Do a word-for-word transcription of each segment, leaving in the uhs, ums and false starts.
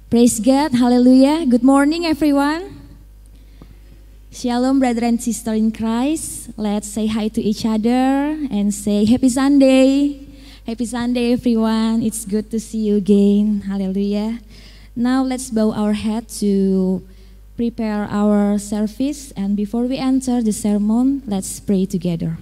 Praise God, hallelujah. Good morning everyone. Shalom brother and sister in Christ. Let's say hi to each other and say happy Sunday. Happy Sunday everyone. It's good to see you again. Hallelujah. Now let's bow our head to prepare our service, and before we enter the sermon, let's pray together.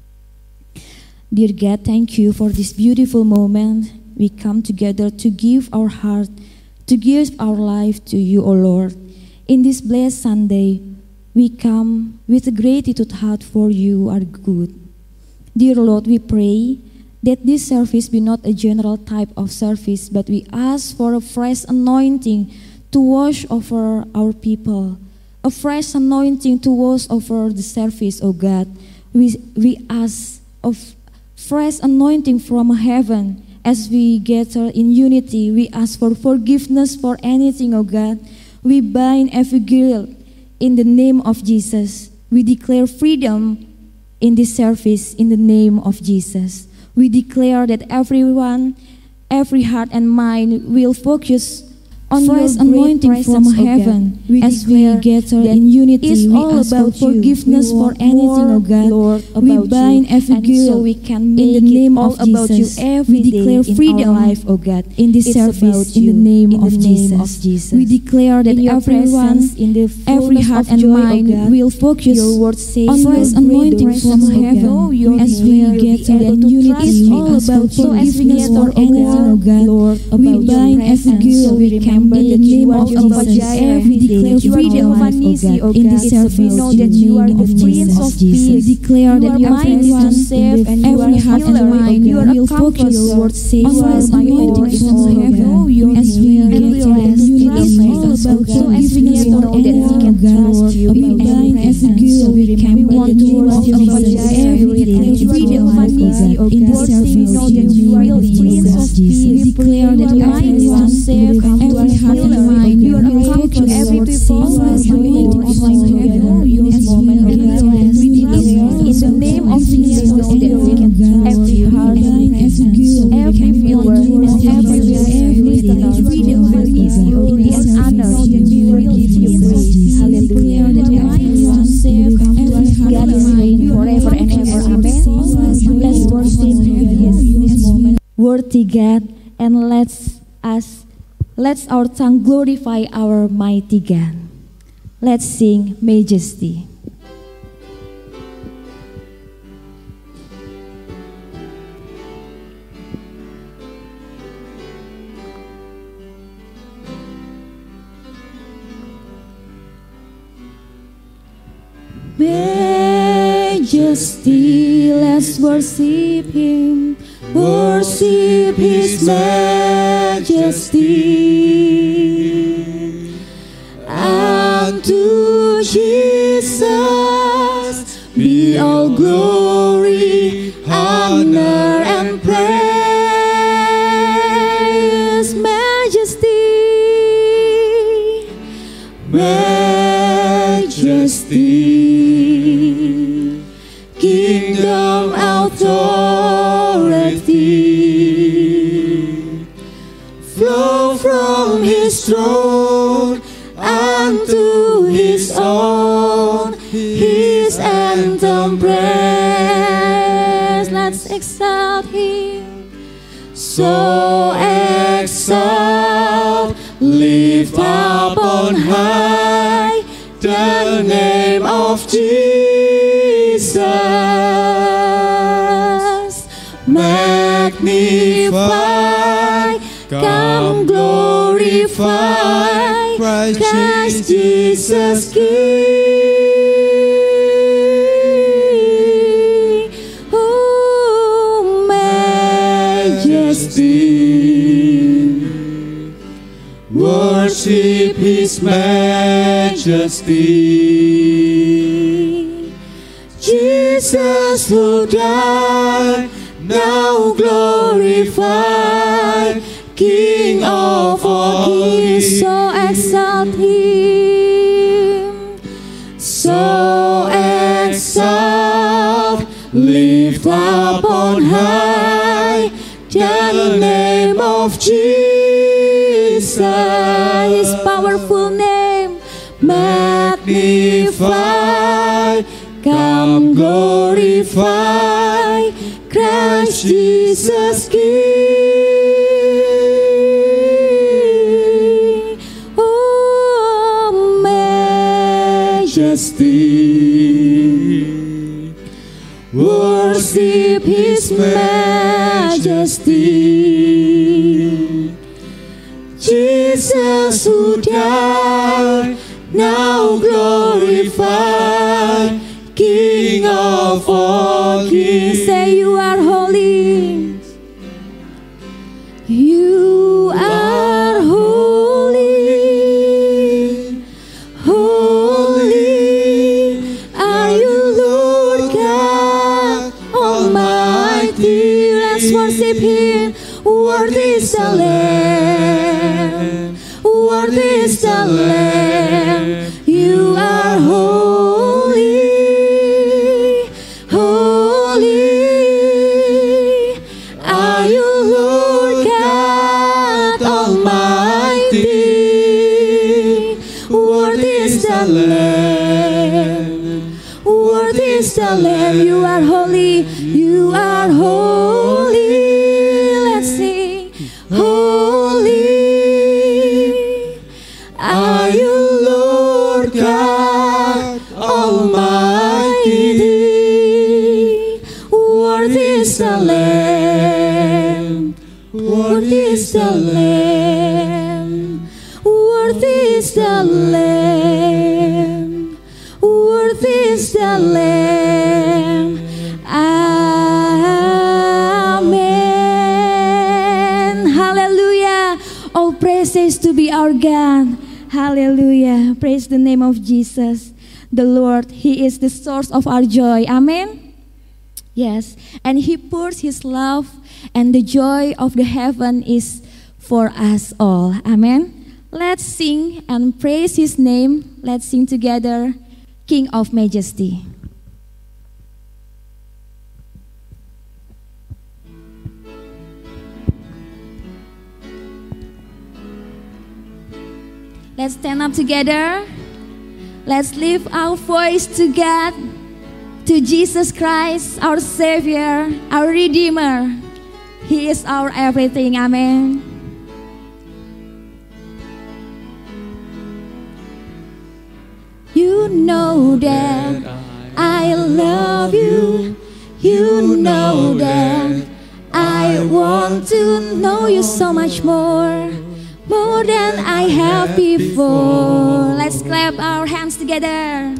Dear God, thank you for this beautiful moment. We come together to give our heart, to give our life to you, O Lord. In this blessed Sunday, we come with a gratitude heart for you are good. Dear Lord, we pray that this service be not a general type of service, but we ask for a fresh anointing to wash over our people, a fresh anointing to wash over the service, O God. We, we ask of fresh anointing from heaven. As we gather in unity, we ask for forgiveness for anything, O God. We bind every guilt in the name of Jesus. We declare freedom in this service in the name of Jesus. We declare that everyone, every heart and mind will focus on fresh anointing from heaven. We as we gather in unity, we all ask about for forgiveness for anything, O God. Lord, we bind every guilt so we can in the name of Jesus. We declare freedom, life, O God, in this service in the name of Jesus. We declare that everyone, in the every heart and mind, will focus on fresh anointing from heaven. As we gather in unity, we ask for forgiveness for anything, O God. We bind every guilt we can. In the name of Jesus, we declare freedom, O God, in this service. We know that you are the Prince of Peace. We declare that everyone, every heart and mind will focus on fresh anointing from heaven. As we gather in unity, so as we know that we can trust you, we bind every guilt we can. We want to worship Jesus every day. Freedom, O God, in this service. We know that you are the Prince of Peace. We declare that everyone, every heart and mind, you are come to every people as you need of my heaven. This moment, we declare in the name of Jesus that we can every heart, every viewer, and every listener, freedom will give you glory and honor. We will give you praise. Hallelujah. God is reign forever and ever. Amen. Let's worship Him this moment. Worthy God, and let's us. Let our tongue glorify our mighty God. Let's sing Majesty. Majesty, let's worship Him. Worship His majesty. Unto Jesus be all glory, honor, and praise. Majesty, majesty, kingdom, authority, flow from His throne unto His own, His anthem praise. Let's exalt Him, so exalt, lift up on high the name of Jesus. Magnify, come glorify Christ Jesus King. Oh, majesty, worship His majesty. Jesus who died, now glorified, King of all kings, so exalt Him, so exalt, lift up on high the name of Jesus. Jesus, His powerful name, magnify, come glorify, Christ Jesus King. Oh, majesty, worship His majesty. Jesus who died, now glorified, King of all kings. Say you are holy. You are holy. Holy are you, Lord God Almighty. Let's worship Him. Worthy is the Lamb. Worthy is the Lamb. You are holy. Holy are you, Lord God Almighty. Worthy is the Lamb. Worthy is the Lamb. You are holy. You are holy. Let's sing. Holy are you, Lord God Almighty. Worthy is the Lamb. Worthy is the Lamb. Worthy is the Lamb. Worthy is the Lamb. Amen. Hallelujah. All praises to be our God. Hallelujah. Praise the name of Jesus. The Lord, He is the source of our joy. Amen. Yes. And He pours His love, and the joy of the heaven is for us all. Amen. Let's sing and praise His name. Let's sing together, King of Majesty. Let's stand up together. Let's lift our voice to God, to Jesus Christ, our Savior, our Redeemer. He is our everything. Amen. You know that I love you. You know that I want to know you so much more. More than I have before. Let's clap our hands together.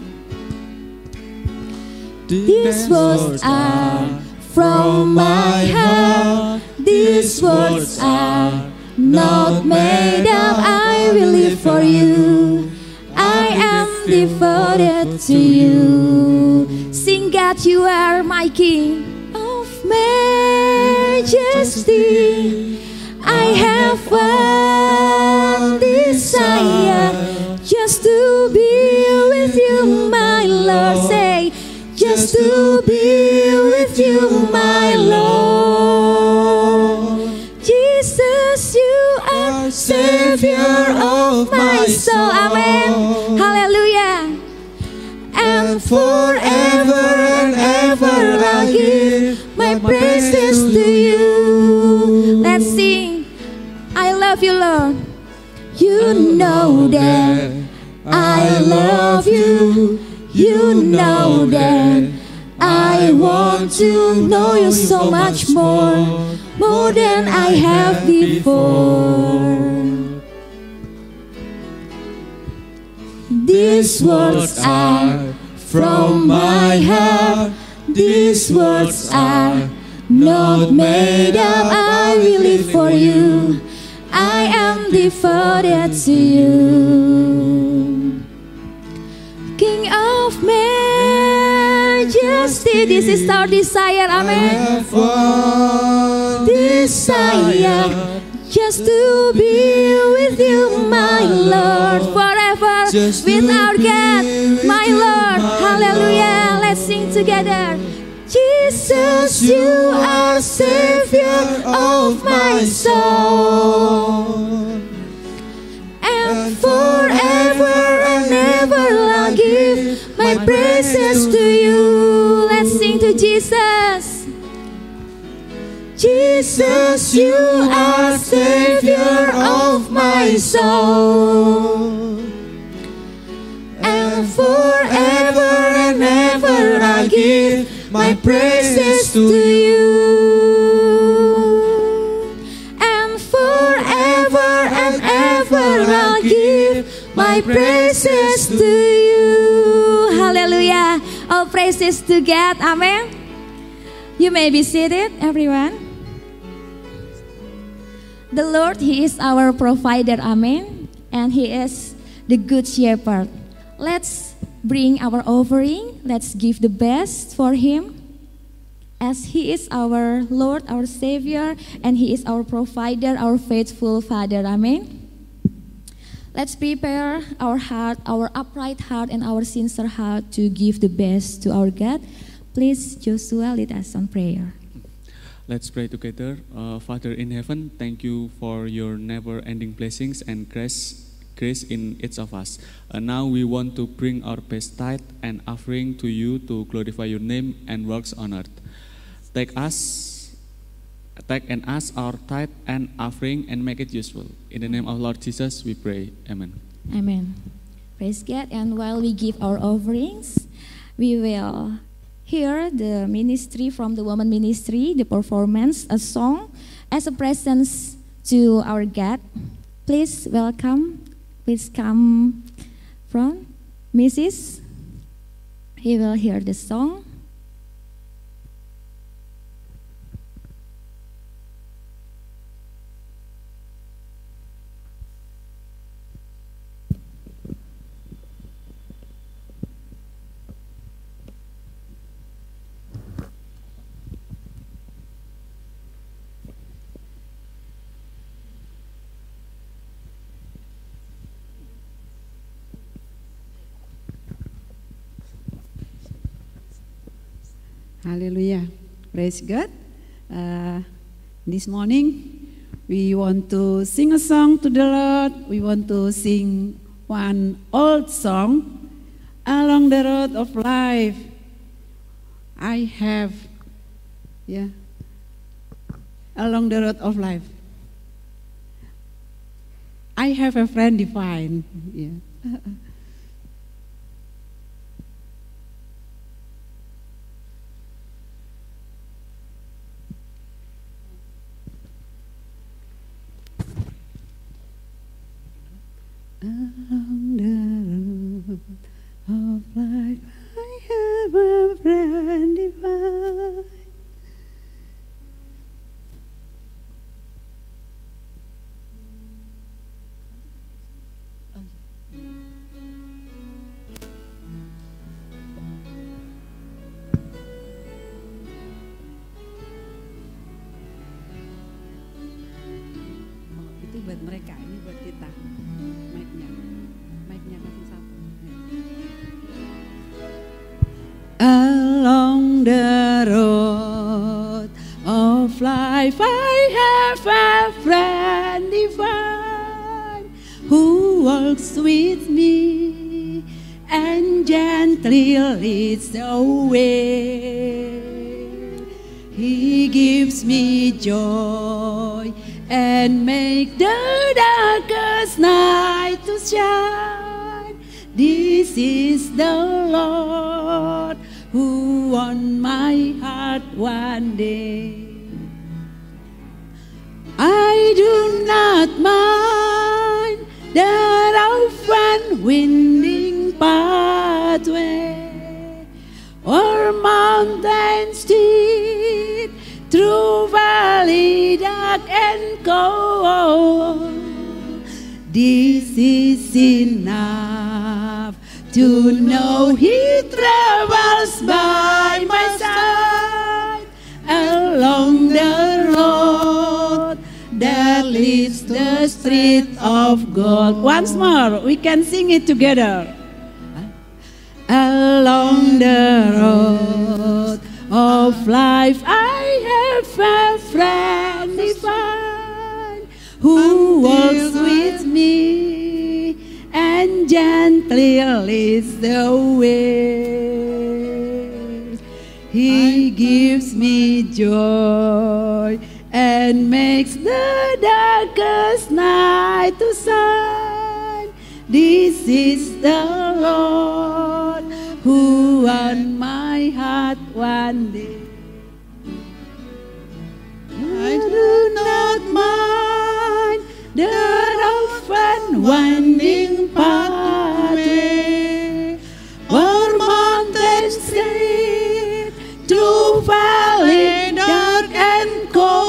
These words are from my heart. These words are not made up. I will live for you. I am devoted to you. Sing, God, you are my King of majesty. I have one desire, just to be with you, my Lord. Say, just to be with you, my Lord. Jesus, you are Savior of my soul. Amen. Hallelujah. And forever and ever I'll give my praises to you. Let's sing. I love you, Lord. You know that I love you. You know that I want to know you so much more, more than I have before. These words are from my heart. These words are not made up. I will live for you. I am devoted to you. King of majesty, this is our desire. Amen. Desire just to be with you, my Lord, forever just with our God, my Lord. Hallelujah. Let's sing together. Jesus, you are Savior of my soul. Jesus, you are Savior of my soul. And forever and ever I give my praises to you. And forever and ever I'll give my praises to you. Hallelujah. All praises to God. Amen. You may be seated, everyone. The Lord, He is our provider. Amen. And He is the good shepherd. Let's bring our offering. Let's give the best for Him. As He is our Lord, our Savior, and He is our provider, our faithful Father. Amen. Let's prepare our heart, our upright heart, and our sincere heart to give the best to our God. Please, Joshua, lead us on prayer. Let's pray together. Uh, Father in heaven, thank you for your never-ending blessings and grace, grace in each of us. Uh, now we want to bring our best tithe and offering to you to glorify your name and works on earth. Take us, take and us our tithe and offering and make it useful. In the name of Lord Jesus, we pray. Amen. Amen. Praise God. And while we give our offerings, we will hear the ministry from the woman ministry, the performance, a song as a presence to our God. Please welcome. Please come from Missus He will hear the song. Hallelujah. Praise God. Uh, this morning, we want to sing a song to the Lord. We want to sing one old song, Along the Road of Life. I have, yeah, Along the Road of Life. I have a friend divine. Yeah. Along the road of life, I have a friend divine. Itu buat mereka, ini buat kita. Mic-nya, mic-nya kasih satu. Along the road of life, I have a friend divine who walks with me and gently leads the way. He gives me joy and make the darkest night to shine. This is the Lord who won my heart one day. I do not mind the rough and winding pathway or mountain steep through valley dark and cold. This is enough to know He travels by my side along the road that leads the street of gold. Once more, we can sing it together. Along the road of life, I have a friend divine who walks with me and gently leads the way. He gives me joy and and makes the darkest night to shine. This is the Lord who won my heart one day. I do not mind the rough and winding pathway, or mountains steep, through valley dark and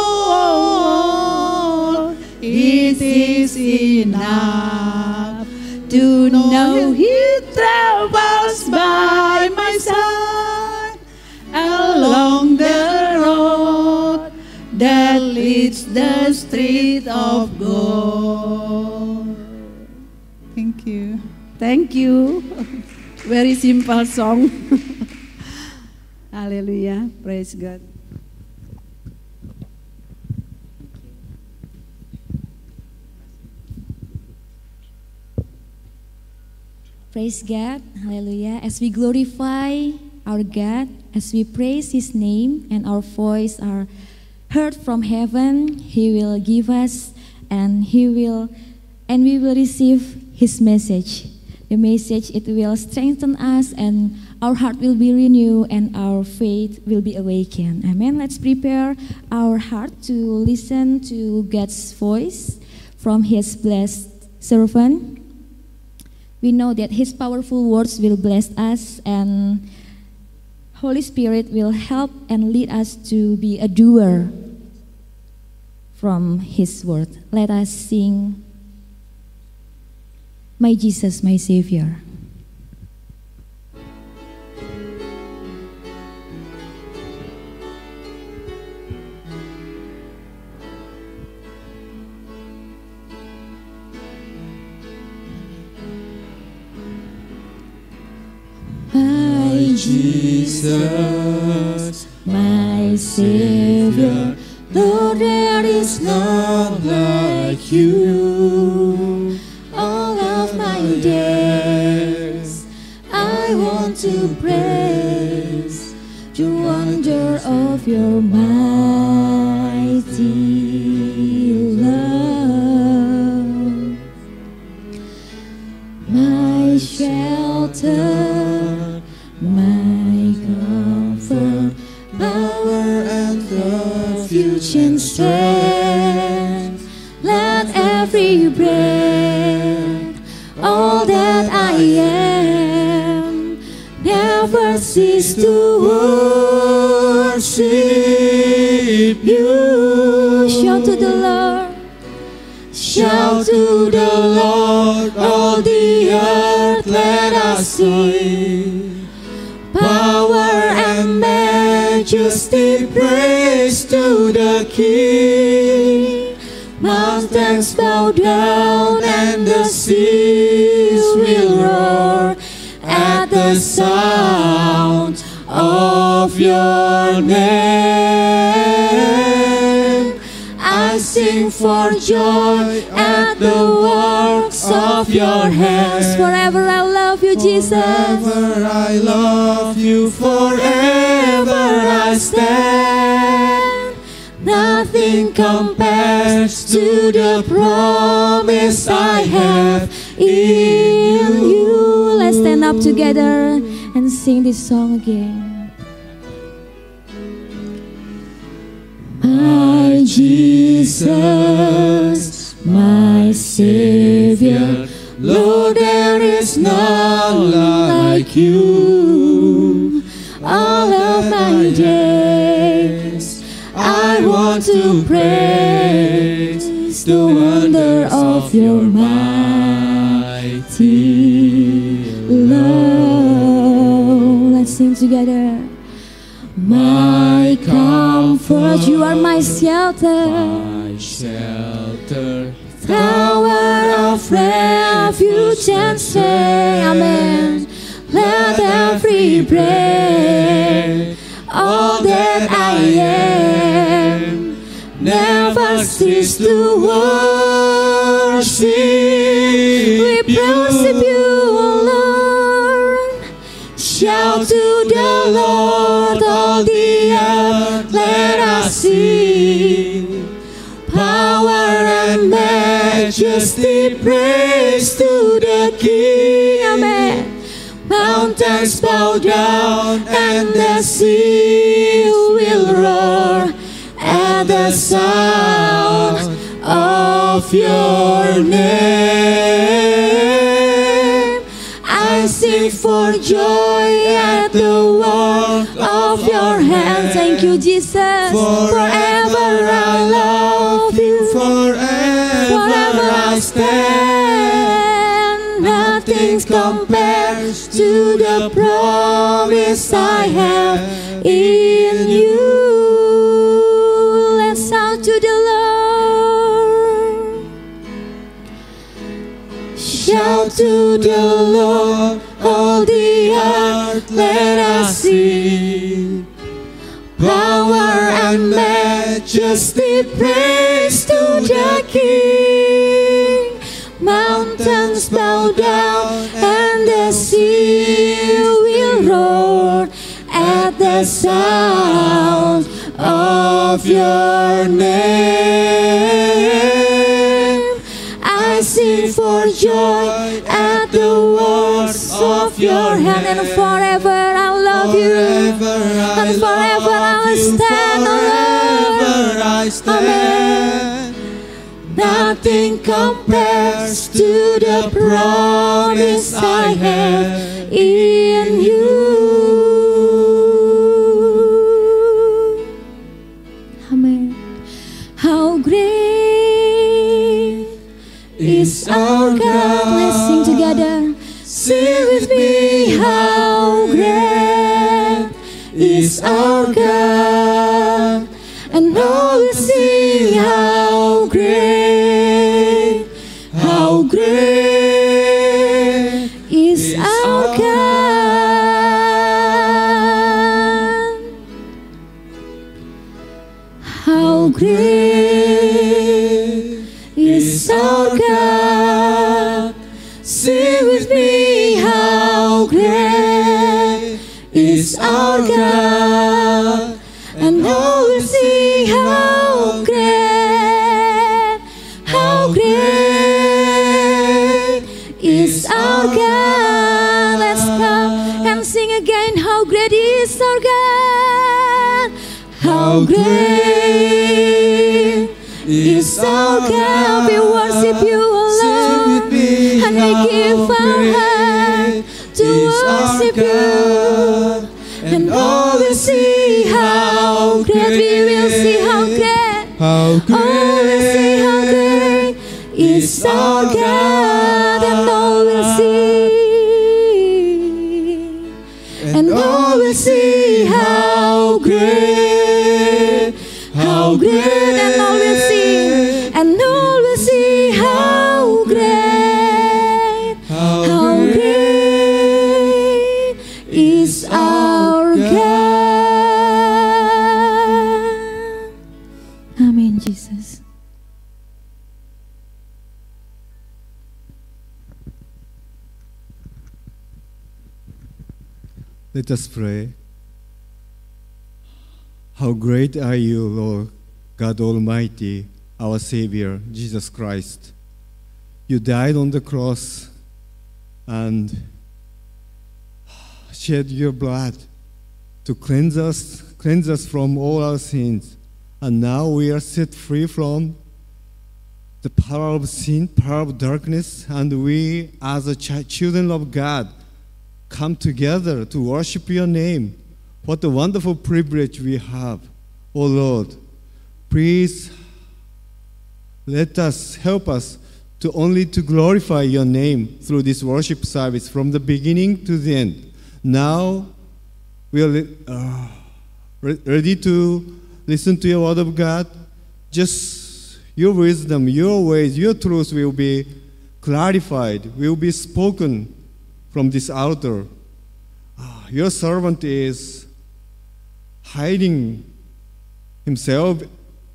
cold. It is enough to know He travels by my side along the road that leads the street of gold. Thank you. Thank you. Very simple song. Hallelujah. Praise God. Praise God, hallelujah. As we glorify our God, as we praise His name and our voice are heard from heaven, He will give us and He will and we will receive His message. The message, it will strengthen us and our heart will be renewed and our faith will be awakened. Amen. Let's prepare our heart to listen to God's voice from His blessed servant. We know that His powerful words will bless us and Holy Spirit will help and lead us to be a doer from His word. Let us sing, My Jesus, My Savior. My Jesus, My Savior, Lord, there is none like you. All of my days, I want to praise the wonder of your mighty love. My shelter, my comfort, power and refuge and strength. let every breath, all that I am, never cease to worship you. shout to the Lord, Shout to the Lord, all the earth, let us sing. Power and majesty, praise to the King. Mountains bow down and the seas will roar at the sound of your name. I sing for joy at the works of your hands. forever I love you, Jesus. Forever I love you, forever I stand. Nothing compares to the promise I have in you. Let's stand up together and sing this song again. My Jesus, my Savior, Lord, there is none like you. All of my days, I want to praise the wonder of your mighty love. Let's sing together. My comfort, you are my shelter, my shelter, tower of refuge and strength. Amen. Let every breath, all that I am, never cease to worship we worship you, Lord. Shout to the Lord, all the earth, let us sing. majesty, praise to the King. Amen. Mountains bow down and the sea will roar at the sound of your name. I sing for joy at the work of your hands. Thank you, Jesus. Forever I love you. Forever, Forever I stand. Nothing compares to the promise I have in you. Let's shout to the Lord. Shout to the Lord, all the earth, let us sing. Power and majesty, praise to the King. Mountains bow down and the sea will roar at the sound of your name. I sing for joy at the works of your hand, and forever I love you, and forever I will stand alone. Amen. Nothing compares to the promise I have in you. Amen. How great is our God. Let's sing together. Sing with me. How great is our God. And all will sing how great, how great is our God. How great is our God. Sing with me, how great is our God. And all will see how great, how great is our God. Let's come and sing again. How great is our God. How great is our God. We worship you alone, and we give our heart to worship you. And all will see how great, we will see how great, how great, all will see how great is our God. And all will see, and all will see how great, how great, and all will see, and all will see how great, how great is our God. Amen, Jesus. Let us pray. How great are you, Lord God Almighty, our Savior, Jesus Christ. You died on the cross and shed your blood to cleanse us, cleanse us from all our sins. And now we are set free from the power of sin, power of darkness, and we, as a ch- children of God, come together to worship your name. What a wonderful privilege we have, oh Lord. Please let us, help us to only to glorify your name through this worship service from the beginning to the end. Now we are uh, re- ready to listen to your word of God. Just your wisdom, your ways, your truth will be clarified, will be spoken from this altar. Uh, your servant is hiding himself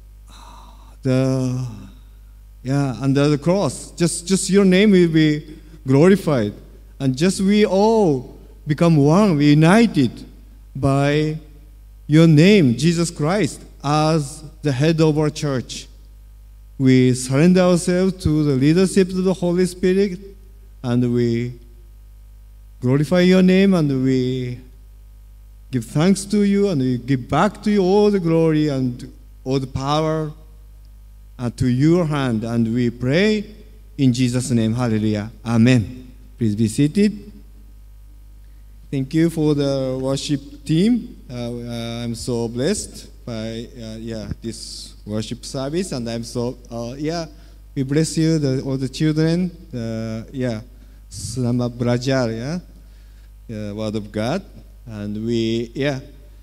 the yeah under the cross. Just just your name will be glorified, and just we all become one, united by your name, Jesus Christ, as the head of our church. we surrender ourselves to the leadership of the Holy Spirit, and we glorify your name, and we give thanks to you, and we give back to you all the glory and all the power uh, to your hand. And we pray in Jesus' name. Hallelujah. Amen. Please be seated. Thank you for the worship team. Uh, uh, I'm so blessed by uh, yeah this worship service, and I'm so uh, yeah we bless you, the, all the children. Uh, yeah, Selamat Belajar, yeah, the Word of God, and we yeah.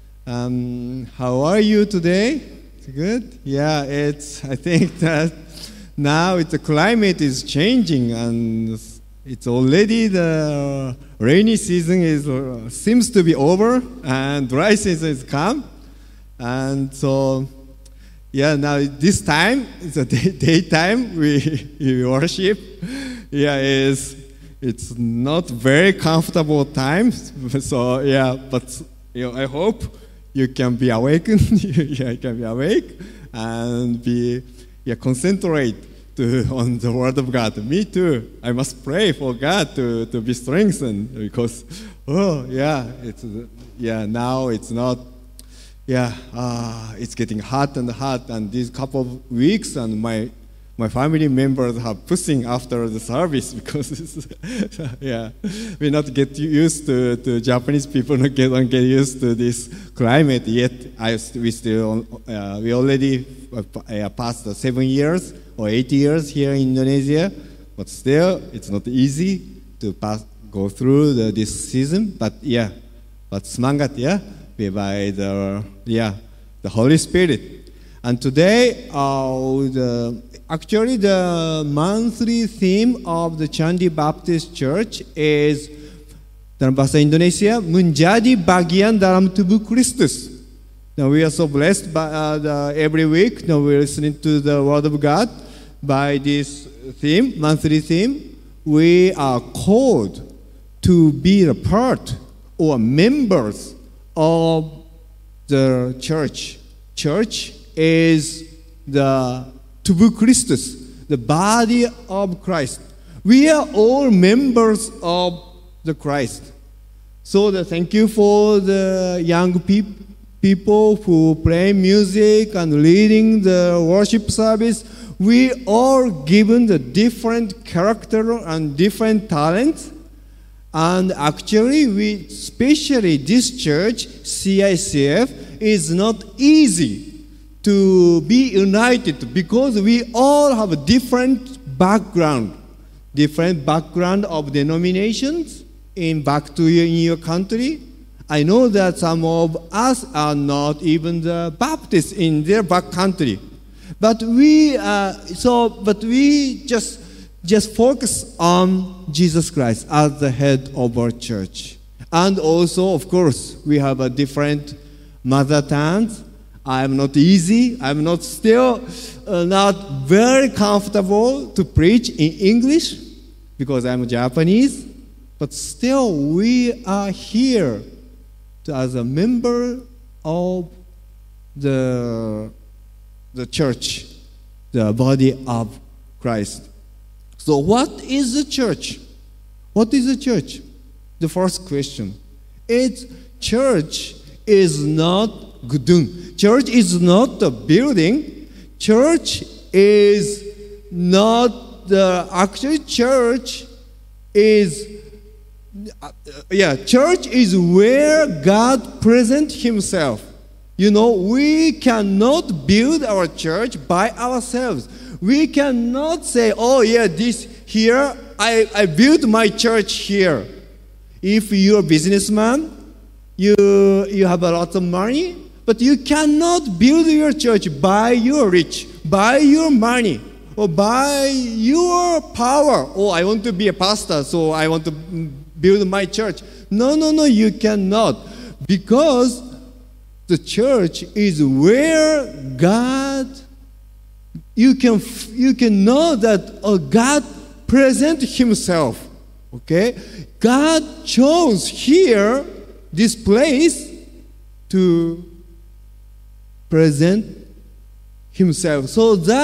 Um, how are you today? It's good. Yeah, it's. I think that now it's the climate is changing, and it's already the rainy season is uh, seems to be over, and dry season is come, and so yeah. Now this time it's a day, daytime. We, we worship. Yeah, is it's not very comfortable times. So yeah, but you know, I hope you can be awakened. Yeah, you can be awake and be yeah concentrate to, on the Word of God. Me too. I must pray for God to, to be strengthened, because, oh, yeah, it's, yeah, now it's not, yeah, uh, it's getting hot and hot, and these couple of weeks, and my my family members are pushing after the service, because, it's, yeah, we not get used to, to Japanese people, not get, don't get used to this climate yet. I, we still, uh, we already uh, passed the seven years, or eight years here in Indonesia, but still it's not easy to pass, go through the, this season. But yeah, but semangat, yeah, by the yeah the Holy Spirit. And today, uh, the, actually the monthly theme of the Chandi Baptist Church is dalam bahasa Indonesia menjadi bagian dalam tubuh Kristus. Now we are so blessed by uh, the, every week. Now we're listening to the Word of God. By this theme, monthly theme, we are called to be a part or members of the church. Church is the tubuh Christus, the body of Christ. We are all members of the Christ. So the, thank you for the young peop- people who play music and leading the worship service. We are given the different character and different talents, and actually, we, especially this church, C I C F, is not easy to be united, because we all have a different background, different background of denominations in back to your, in your country. I know that some of us are not even the Baptists in their back country. But we, uh, so, but we just, just focus on Jesus Christ as the head of our church. And also, of course, we have a different mother tongues. I'm not easy. I'm not still uh, not very comfortable to preach in English, because I'm Japanese. But still, we are here to, as a member of the the church, the body of Christ. So what is the church? What is the church? The first question. It's church is not gedung. Church is not the building. Church is not the actual church is uh, yeah, church is where God presents himself. You know, we cannot build our church by ourselves. We cannot say, oh yeah, this here, I, I built my church here. If you're a businessman, you, you have a lot of money, but you cannot build your church by your rich, by your money, or by your power. Oh, I want to be a pastor, so I want to build my church. No, no, no, you cannot. Because the church is where God, you can you can know that oh, God present himself. Okay? God chose here, this place, to present himself. So that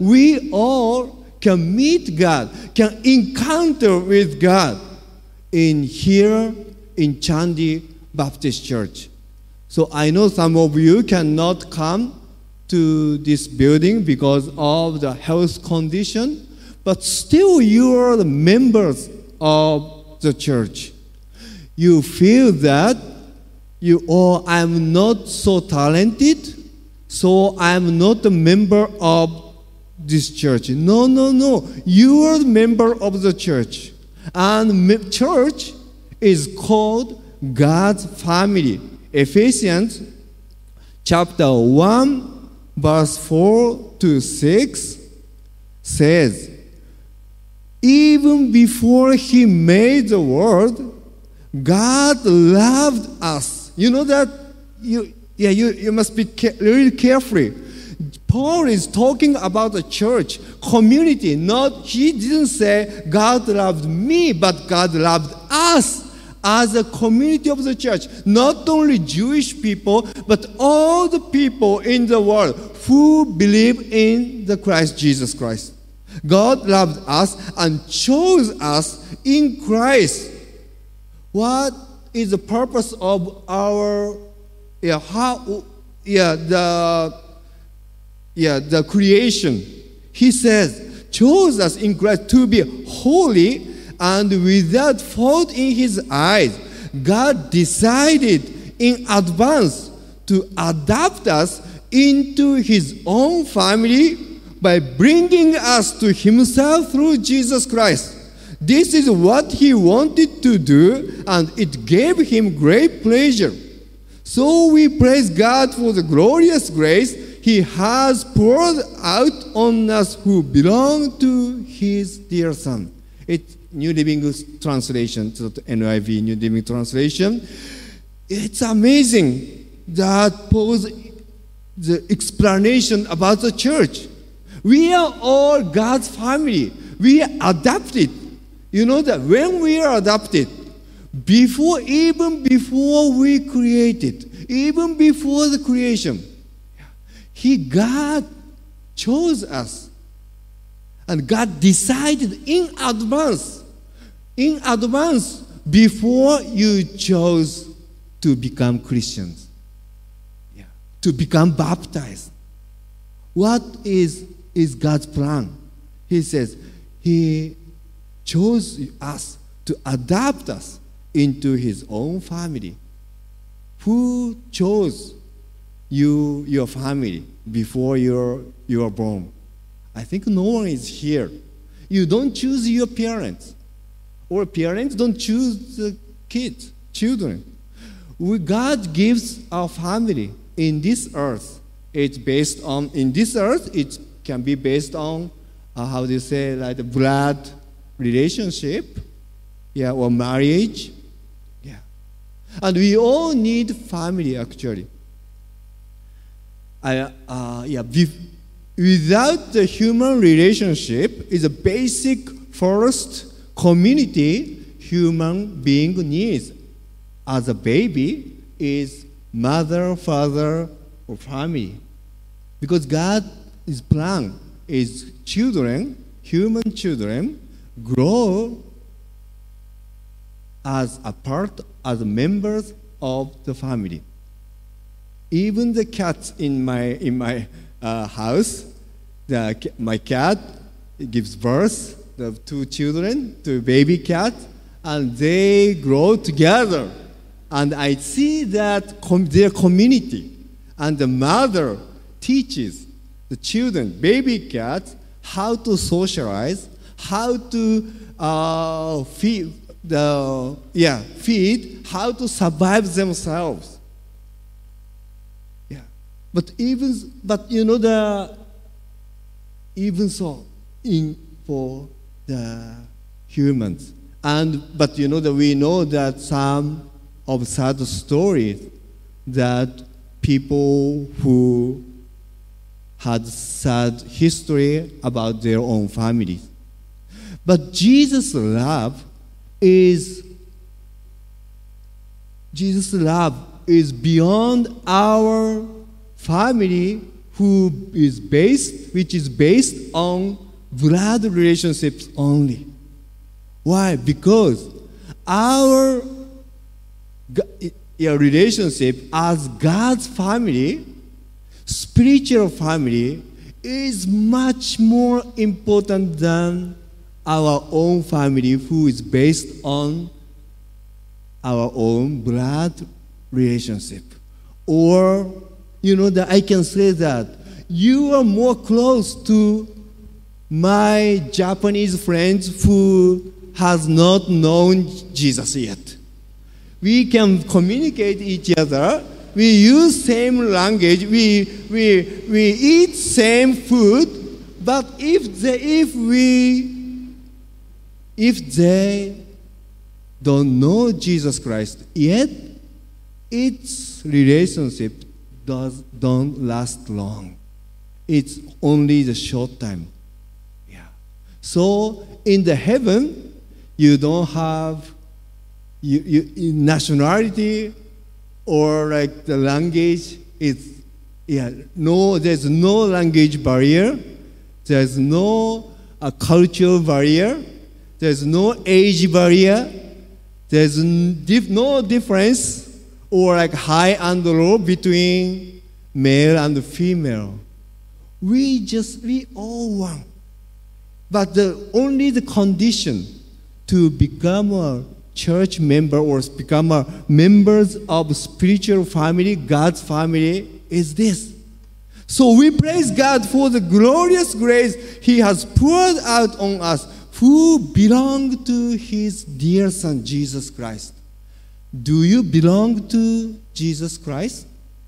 we all can meet God, can encounter with God in here in Chandi Baptist Church. So I know some of you cannot come to this building because of the health condition, but still you are the members of the church. You feel that you, oh, I'm not so talented, so I'm not a member of this church. No, no, no. You are the member of the church. And church is called God's family. Ephesians chapter one, verse four to six says, even before he made the world, God loved us. You know that? You, yeah, you, you must be ca- really careful. Paul is talking about the church, community. Not, he didn't say God loved me, but God loved us as a community of the church. Not only Jewish people, but all the people in the world who believe in the Christ Jesus Christ. God loved us and chose us in Christ. What is the purpose of our, yeah, how, yeah, the, yeah, the creation? He says, chose us in Christ to be holy and without fault in his eyes. God decided in advance to adopt us into his own family by bringing us to himself through Jesus Christ. This is what he wanted to do, and it gave him great pleasure. So we praise God for the glorious grace he has poured out on us who belong to his dear Son. It's New Living Translation, so the N I V New Living Translation. It's amazing that Paul's the explanation about the church. We are all God's family. We are adopted. You know that when we are adopted, before, even before we created, even before the creation, He, God chose us. And God decided in advance, in advance, before you chose to become Christians, yeah, to become baptized. What is, is God's plan? He says, He chose us to adopt us into His own family. Who chose you, your family, before you're, you were born? I think no one is here. You don't choose your parents, or parents don't choose the kids, children. We, God gives our family in this earth. It's based on, in this earth, it can be based on, uh, how do you say, like the blood relationship, yeah, or marriage, yeah. And we all need family, actually. I, uh, yeah, without the human relationship is a basic first community human being needs. As a baby is mother, father, or family. Because God's plan is children, human children, grow as a part, as members of the family. Even the cats in my in my uh, house, the, my cat gives birth to two children, to baby cat, and they grow together. And I see that com- their community, and the mother teaches the children, baby cats, how to socialize, how to uh, feed the yeah feed, how to survive themselves. Yeah, but even but you know the even so in for the humans, and but you know that we know that some of sad stories that people who had sad history about their own families. But Jesus' love is Jesus' love is beyond our family who is based, which is based on blood relationships only. Why? Because our yeah, relationship as God's family, spiritual family, is much more important than our own family, who is based on our own blood relationship. Or, you know, that I can say that you are more close to my Japanese friends who has not known Jesus yet. We can communicate each other. We use same language. We we we eat same food. But if they if we if they don't know Jesus Christ yet, its relationship does don't last long. It's only the short time. Yeah. So in the heaven, you don't have you, you, nationality or like the language. It's yeah no. There's no language barrier. There's no uh, cultural barrier. There's no age barrier. There's no difference or like high and low between male and female. We just, we all one. But the only the condition to become a church member or become a members of spiritual family, God's family, is this. So we praise God for the glorious grace He has poured out on us, who belong to His dear Son, Jesus Christ. Do you belong to Jesus Christ?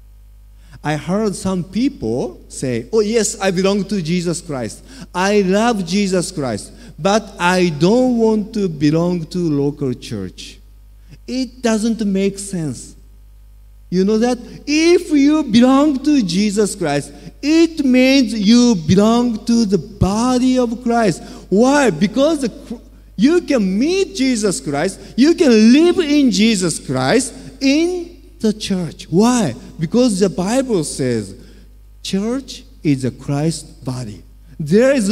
I heard some people say, oh yes, I belong to Jesus Christ. I love Jesus Christ, but I don't want to belong to local church. It doesn't make sense. You know that? If you belong to Jesus Christ, it means you belong to the body of Christ. Why? Because the, you can meet Jesus Christ, you can live in Jesus Christ in the church. Why? Because the Bible says church is a Christ body. There is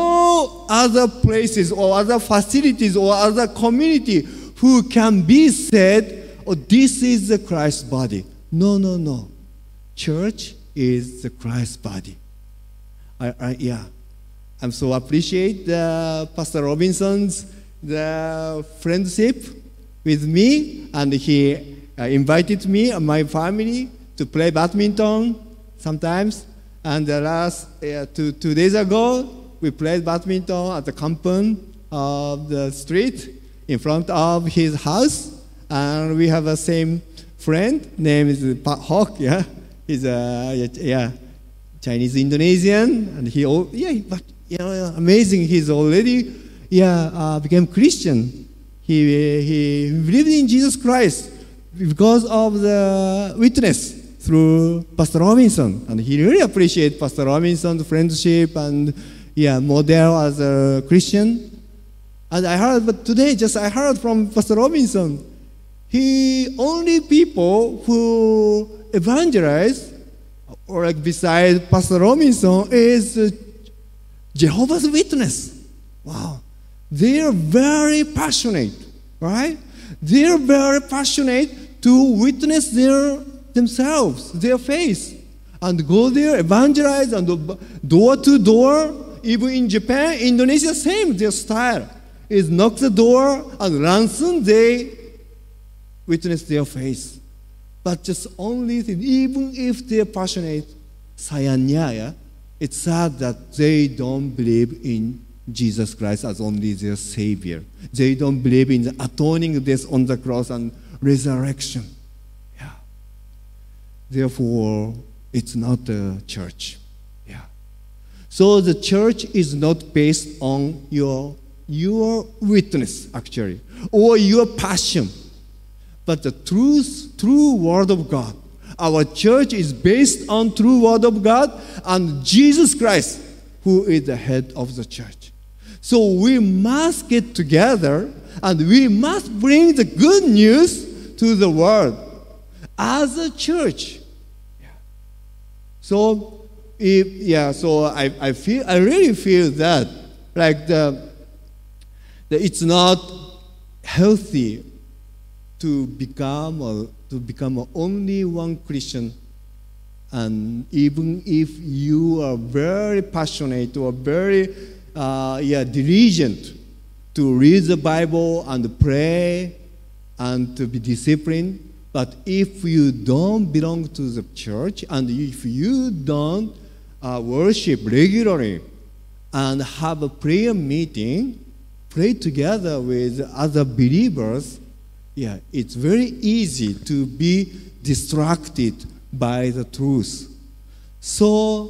no other places or other facilities or other community who can be said, oh, this is the Christ body. No, no, no. Church is the Christ body. I, I, yeah. I'm so appreciate the Pastor Robinson's the friendship with me, and he uh, invited me and my family to play badminton sometimes. And the last uh, two two days ago, we played badminton at the compound of the street in front of his house, and we have a same friend name is Pak Hok. Yeah, he's a yeah Chinese Indonesian, and he oh yeah but. You know, amazing. He's already, yeah, uh, became Christian. He he believed in Jesus Christ because of the witness through Pastor Robinson, and he really appreciates Pastor Robinson's friendship and yeah, model as a Christian. And I heard, but today, just I heard from Pastor Robinson, he only people who evangelize or like beside Pastor Robinson is. Uh, Jehovah's Witness. Wow. They are very passionate, right? They are very passionate to witness their themselves, their faith, and go there, evangelize, and door to door. Even in Japan, Indonesia, same, their style is knock the door and ransom, they witness their faith. But just only thing, even if they're passionate, sayangnya ya, it's sad that they don't believe in Jesus Christ as only their Savior. They don't believe in the atoning death on the cross and resurrection. Yeah. Therefore, it's not a church. Yeah. So the church is not based on your, your witness, actually, or your passion, but the truth, true Word of God. Our church is based on true Word of God and Jesus Christ, who is the head of the church. So we must get together and we must bring the good news to the world as a church. So if yeah, so I, I feel I really feel that like the, the it's not healthy to become a, to become a only one Christian, and even if you are very passionate or very uh, yeah diligent to read the Bible and pray and to be disciplined, but if you don't belong to the church and if you don't uh, worship regularly and have a prayer meeting, pray together with other believers, yeah, it's very easy to be distracted by the truth. So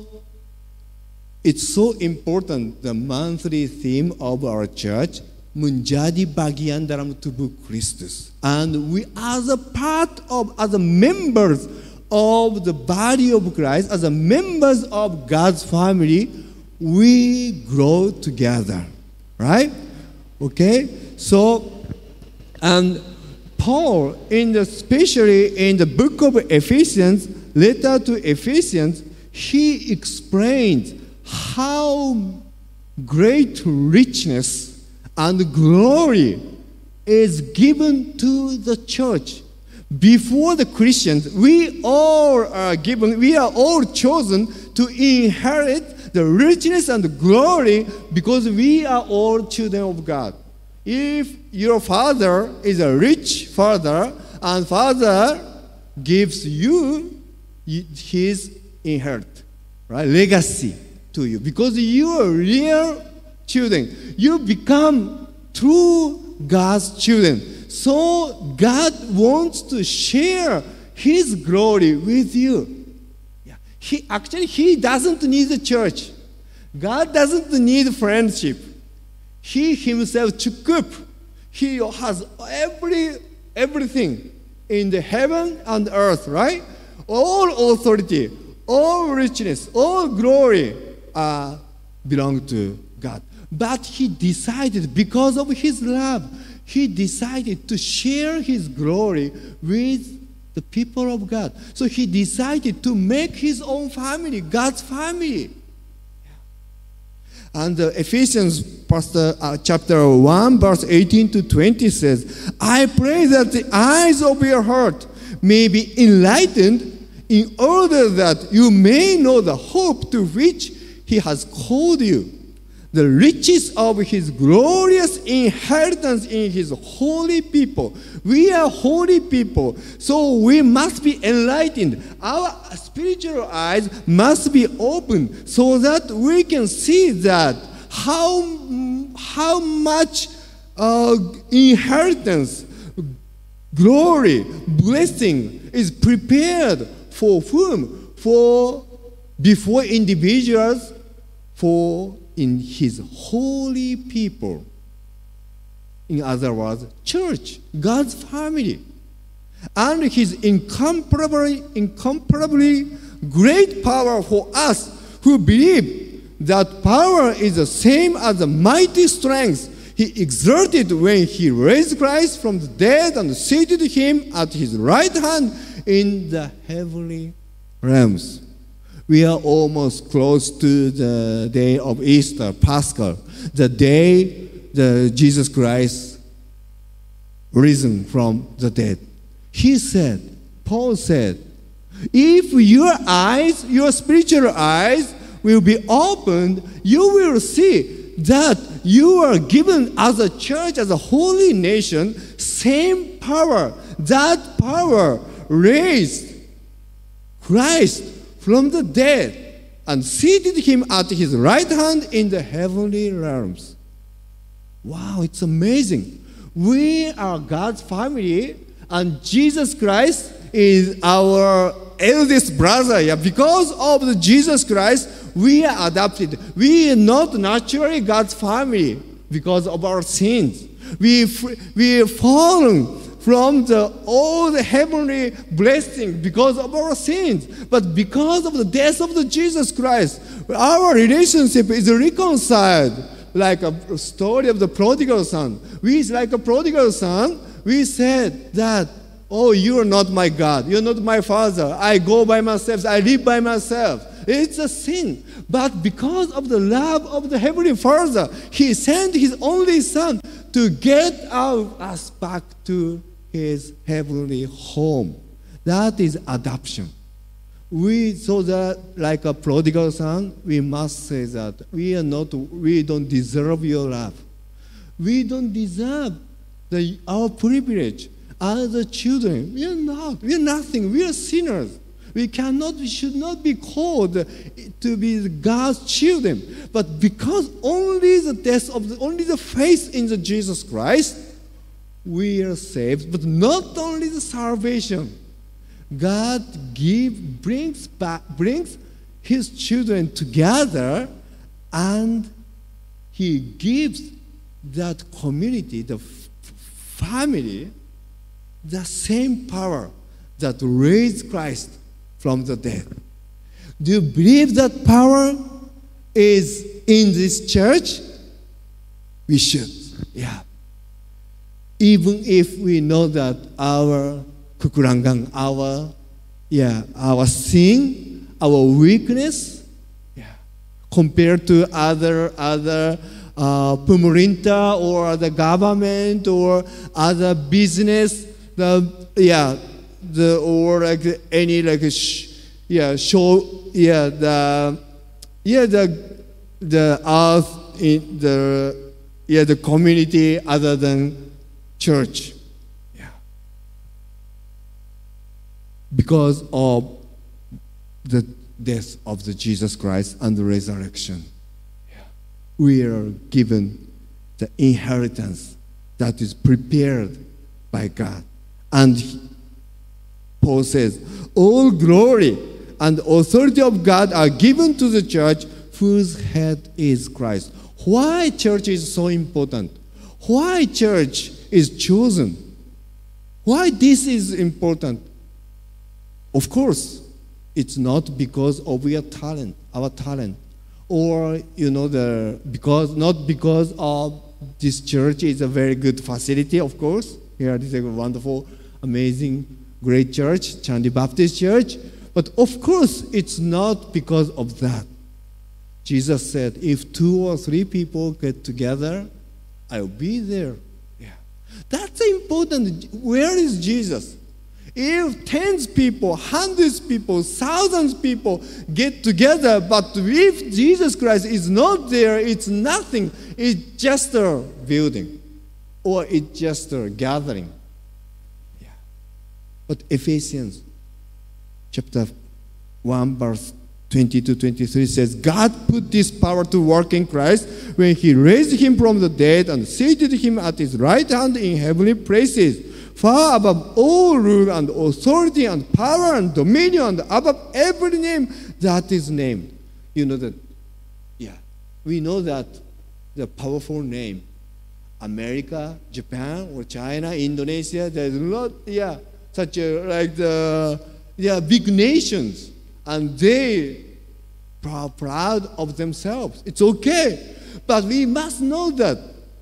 it's so important, the monthly theme of our church, menjadi bagian dalam tubuh Kristus. And we as a part of, as a members of the body of Christ, as a members of God's family, we grow together, right? Okay, so, and Paul, in the, especially in the book of Ephesians, letter to Ephesians, he explains how great richness and glory is given to the church. Before the Christians, we all are given, we are all chosen to inherit the richness and the glory because we are all children of God. If your father is a rich father and father gives you his inherit, right, legacy to you, because you are real children, you become true God's children. So God wants to share his glory with you. Yeah. He actually he doesn't need the church. God doesn't need friendship. He himself took up. He has every everything in the heaven and earth, right? All authority, all richness, all glory uh, belong to God. But he decided, because of his love, he decided to share his glory with the people of God. So he decided to make his own family, God's family. And uh, Ephesians pastor, uh, chapter one, verse eighteen to twenty says, I pray that the eyes of your heart may be enlightened in order that you may know the hope to which he has called you, the riches of his glorious inheritance in his holy people. We are holy people, so we must be enlightened. Our spiritual eyes must be opened so that we can see that how, how much uh, inheritance, glory, blessing is prepared for whom? For before individuals, for in his holy people. In other words, church, God's family. And his incomparably, incomparably great power for us who believe that power is the same as the mighty strength he exerted when he raised Christ from the dead and seated him at his right hand in the heavenly realms. We are almost close to the day of Easter, Paschal, the day the Jesus Christ risen from the dead. He said, Paul said, if your eyes, your spiritual eyes will be opened, you will see that you are given as a church, as a holy nation, same power. That power raised Christ from the dead and seated him at his right hand in the heavenly realms. Wow, it's amazing. We are God's family, and Jesus Christ is our eldest brother. Yeah, because of the Jesus Christ, we are adopted. We are not naturally God's family because of our sins. We we are fallen from the all the heavenly blessing because of our sins. But because of the death of the Jesus Christ, our relationship is reconciled. Like a story of the prodigal son. We, like a prodigal son, we said that, oh, you are not my God. You're not my father. I go by myself. I live by myself. it's a sin. But because of the love of the Heavenly Father, He sent His only Son to get out us back to His heavenly home. That is adoption. We, so that like a prodigal son, we must say that we are not, we don't deserve your love. We don't deserve the, our privilege as the children. We are not. We are nothing. We are sinners. We cannot, we should not be called to be God's children. But because only the death of the, only the faith in the Jesus Christ, we are saved. But not only the salvation. God give, brings back, brings His children together, and He gives that community, the f- family, the same power that raised Christ from the dead. Do you believe that power is in this church? We should, yeah. Even if we know that our kekurangan, our, yeah, our sin, our weakness, yeah, compared to other other uh, pemerintah or the government or other business, the yeah, the or like any like sh- yeah show yeah the yeah the the earth in the yeah the community other than church. Because of the death of the Jesus Christ and the resurrection, yeah, we are given the inheritance that is prepared by God. And Paul says, all glory and authority of God are given to the church whose head is Christ. Why church is so important? Why church is chosen? Why this is important? Of course, it's not because of our talent, our talent, or you know the because not because of this church is a very good facility. Of course, here this is a wonderful, amazing, great church, Chandi Baptist Church. But of course, it's not because of that. Jesus said, "If two or three people get together, I'll be there." Yeah, that's important. Where is Jesus? If tens people, hundreds people, thousands people get together, but if Jesus Christ is not there, it's nothing. It's just a building, or it's just a gathering. Yeah. But Ephesians chapter one, verse twenty to twenty-three says, God put this power to work in Christ when He raised Him from the dead and seated Him at His right hand in heavenly places, far above all rule and authority and power and dominion and above every name that is named. You know that, yeah, we know that the powerful name, America, Japan, or China, Indonesia, there's a lot, yeah, such a, like the, yeah, big nations, and they are proud of themselves. It's okay, but we must know that,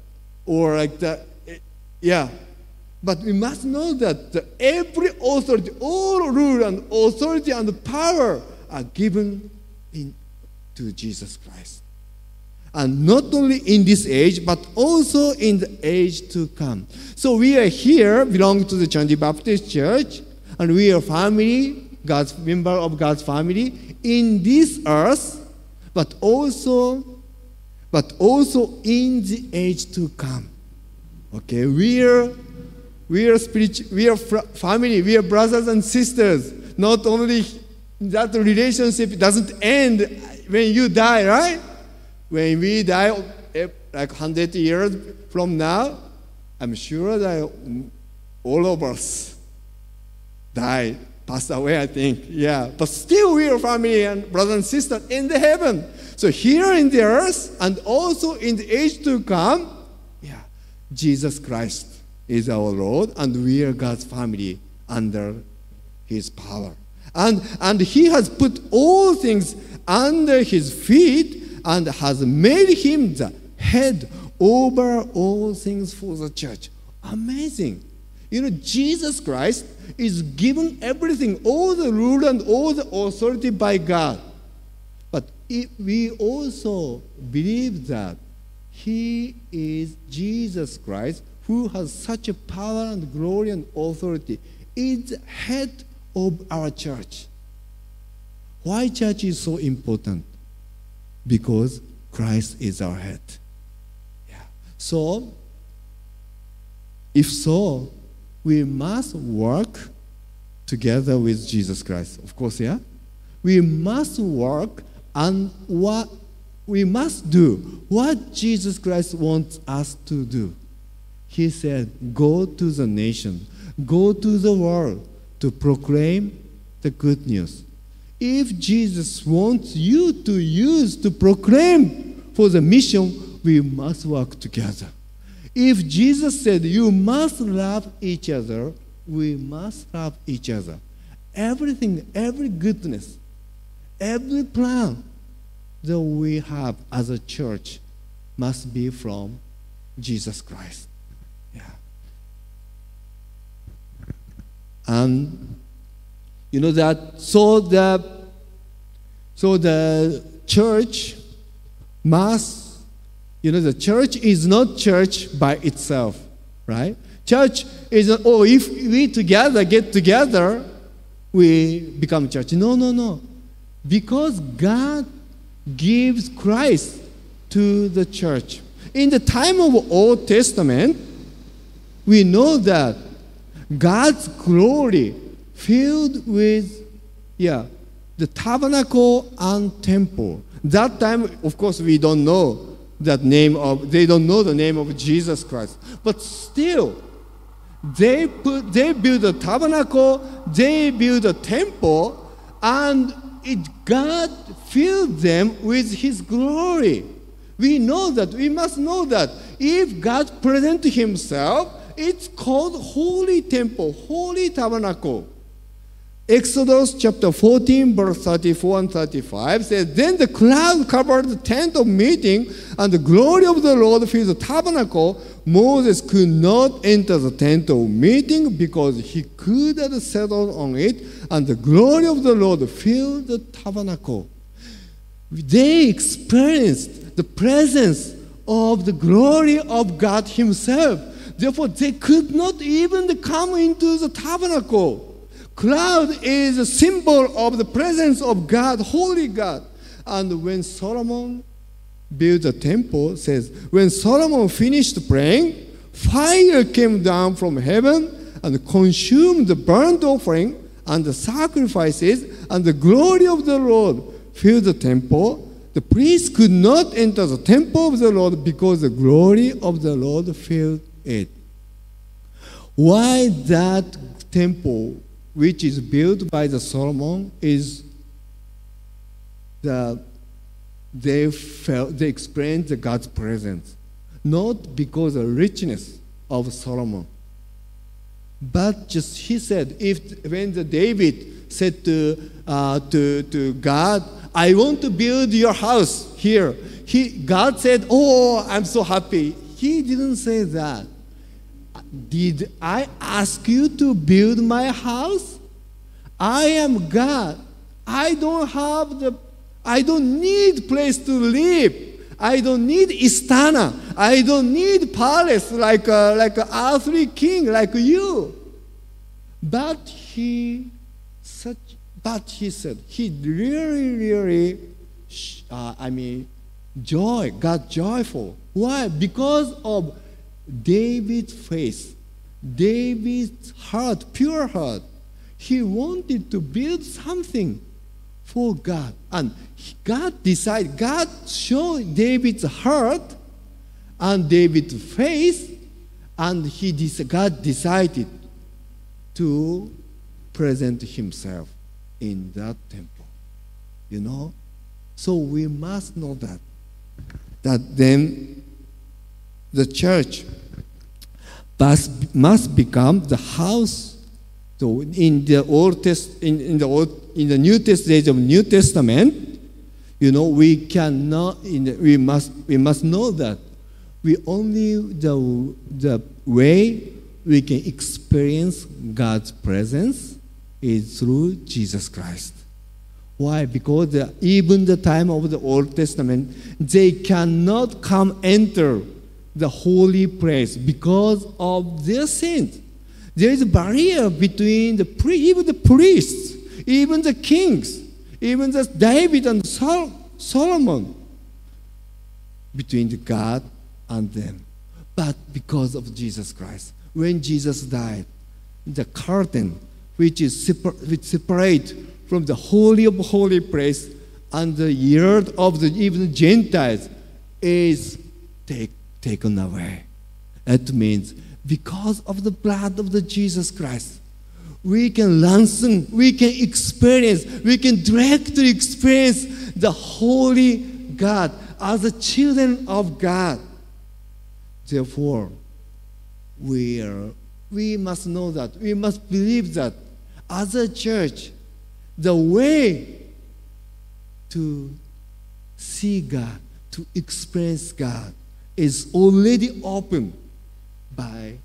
or like the, yeah, but we must know that the, every authority, all rule and authority and power are given in, to Jesus Christ. And not only in this age, but also in the age to come. So we are here, belong to the Chandi Baptist Church, and we are family, God's member of God's family in this earth, but also, but also in the age to come. Okay, we are. We are spiritual, we are family, we are brothers and sisters. Not only that relationship doesn't end when you die, right? When we die, like one hundred years from now, I'm sure that all of us die, passed away, I think. Yeah, but still we are family and brothers and sisters in the heaven. So here in the earth and also in the age to come, yeah, Jesus Christ is our Lord, and we are God's family under His power. And, and He has put all things under His feet and has made Him the head over all things for the church. Amazing. You know, Jesus Christ is given everything, all the rule and all the authority by God. it, we also believe that He is Jesus Christ, who has such a power and glory and authority, is the head of our church. Why church is so important? Because Christ is our head. Yeah. So, if so, we must work together with Jesus Christ. Of course, yeah? We must work and what we must do what Jesus Christ wants us to do. He said, go to the nation, go to the world to proclaim the good news. If Jesus wants you to use to proclaim for the mission, we must work together. If Jesus said you must love each other, we must love each other. Everything, every goodness, every plan that we have as a church must be from Jesus Christ. Yeah. And you know that so the so the church must, you know, the church is not church by itself, right? Church is not, oh, if we together get together, we become church. No, no, no. Because God gives Christ to the church. In the time of Old Testament, we know that God's glory filled with, yeah, the tabernacle and temple. That time, of course, we don't know that name of, they don't know the name of Jesus Christ. But still, they put, they build a tabernacle, they build a temple, and it, God filled them with His glory. We know that, we must know that if God presents Himself, it's called Holy Temple, Holy Tabernacle. Exodus chapter fourteen, verse thirty-four and thirty-five says, then the cloud covered the tent of meeting, and the glory of the Lord filled the tabernacle. Moses could not enter the tent of meeting because he could not settle on it, and the glory of the Lord filled the tabernacle. They experienced the presence of the glory of God Himself. Therefore, they could not even come into the tabernacle. Cloud is a symbol of the presence of God, holy God. And when Solomon built the temple, says, when Solomon finished praying, fire came down from heaven and consumed the burnt offering and the sacrifices, and the glory of the Lord filled the temple. The priest could not enter the temple of the Lord because the glory of the Lord filled it. Why that temple, which is built by the Solomon, is the they felt they experienced the God's presence, not because of the richness of Solomon, but just he said, if when the David said to uh, to to God, I want to build your house here, he God said, oh, I'm so happy. He didn't say that. Did I ask you to build my house? I am God. I don't have the, I don't need place to live. I don't need istana. I don't need palace like a, like an earthly king like you. But he, such, but he said he really, really, uh, I mean, joy, got joyful. Why? Because of David's faith, David's heart, pure heart. He wanted to build something for God. And God decided, God showed David's heart and David's faith, and he, God decided to present Himself in that temple. You know? So we must know that. That then the church must, must become the house. So in the Old Test, in, in the Old, in the New Testament of New Testament, you know, we cannot. In the, we must we must know that we only the the way we can experience God's presence is through Jesus Christ. Why? Because the, even the time of the Old Testament, they cannot come enter the holy place because of their sins. There is a barrier between the pri- even the priests, even the kings, even the David and Sol- Solomon, between the God and them. But because of Jesus Christ, when Jesus died, the curtain which is separ- which separate from the holy of holy place and the yard of the even the Gentiles is take, taken away. That means because of the blood of the Jesus Christ, we can ransom, we can experience, we can directly experience the holy God as the children of God. Therefore, we are, we must know that, we must believe that as a church, the way to see God, to experience God, is already open by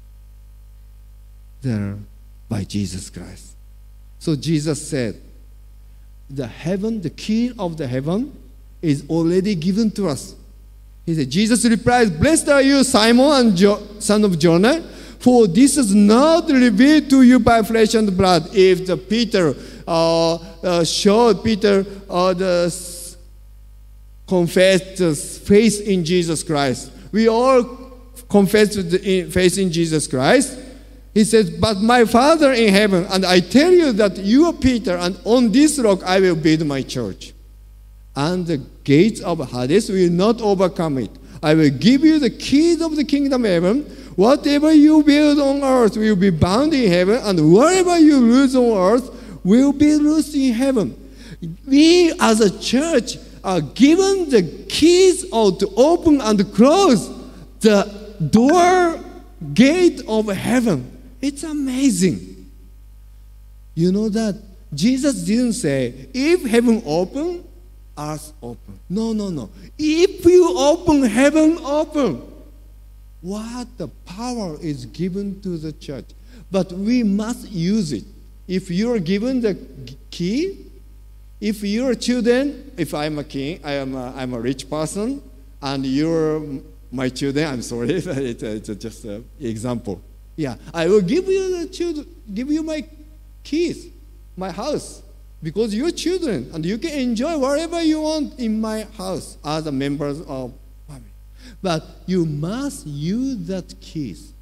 the by Jesus Christ. So Jesus said, the heaven, the key of the heaven is already given to us. He said, Jesus replies, blessed are you, Simon, and jo- son of Jonah, for this is not revealed to you by flesh and blood. If the Peter uh, uh, showed Peter uh, the s- confessed the faith in Jesus Christ, we all confess the faith in Jesus Christ. He says, but my Father in heaven, and I tell you that you are Peter, and on this rock I will build my church. And the gates of Hades will not overcome it. I will give you the keys of the kingdom of heaven. Whatever you build on earth will be bound in heaven, and whatever you loose on earth will be loosed in heaven. We as a church are given the keys of to open and close the door gate of heaven. It's amazing. You know that Jesus didn't say, if heaven open, earth open. No, no, no. If you open, heaven open. What the power is given to the church. But we must use it. If you're given the key, if you're children, if I'm a king, I am a, I'm a rich person, and you're my children, I'm sorry, it's, it's just an example. Yeah, I will give you the children, give you my keys, my house, because you're children, and you can enjoy whatever you want in my house as a members of family. But you must use that keys.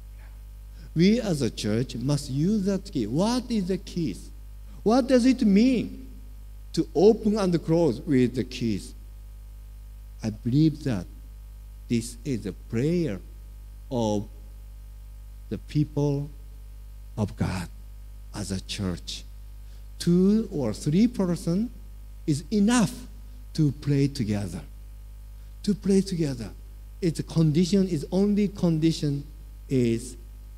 We as a church must use that key. What is the keys? What does it mean to open and close with the keys? I believe that this is a prayer of the people of God as a church. Two or three persons is enough to pray together. To pray together. Its condition is only condition is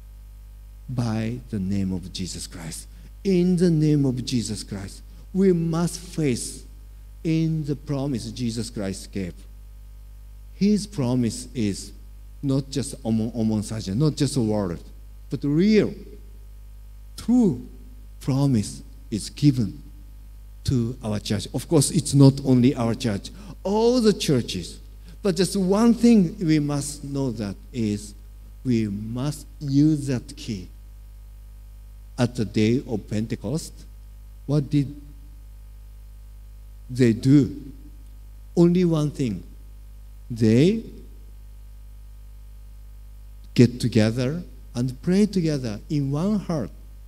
by the name of Jesus Christ. In the name of Jesus Christ, we must face in the promise Jesus Christ gave. His promise is not just among, among such, not just a word, but real, true promise is given to our church. Of course, it's not only our church, all the churches. But just one thing we must know that is we must use that key. At the day of Pentecost, what did they do? Only one thing. They get together and pray together in one heart.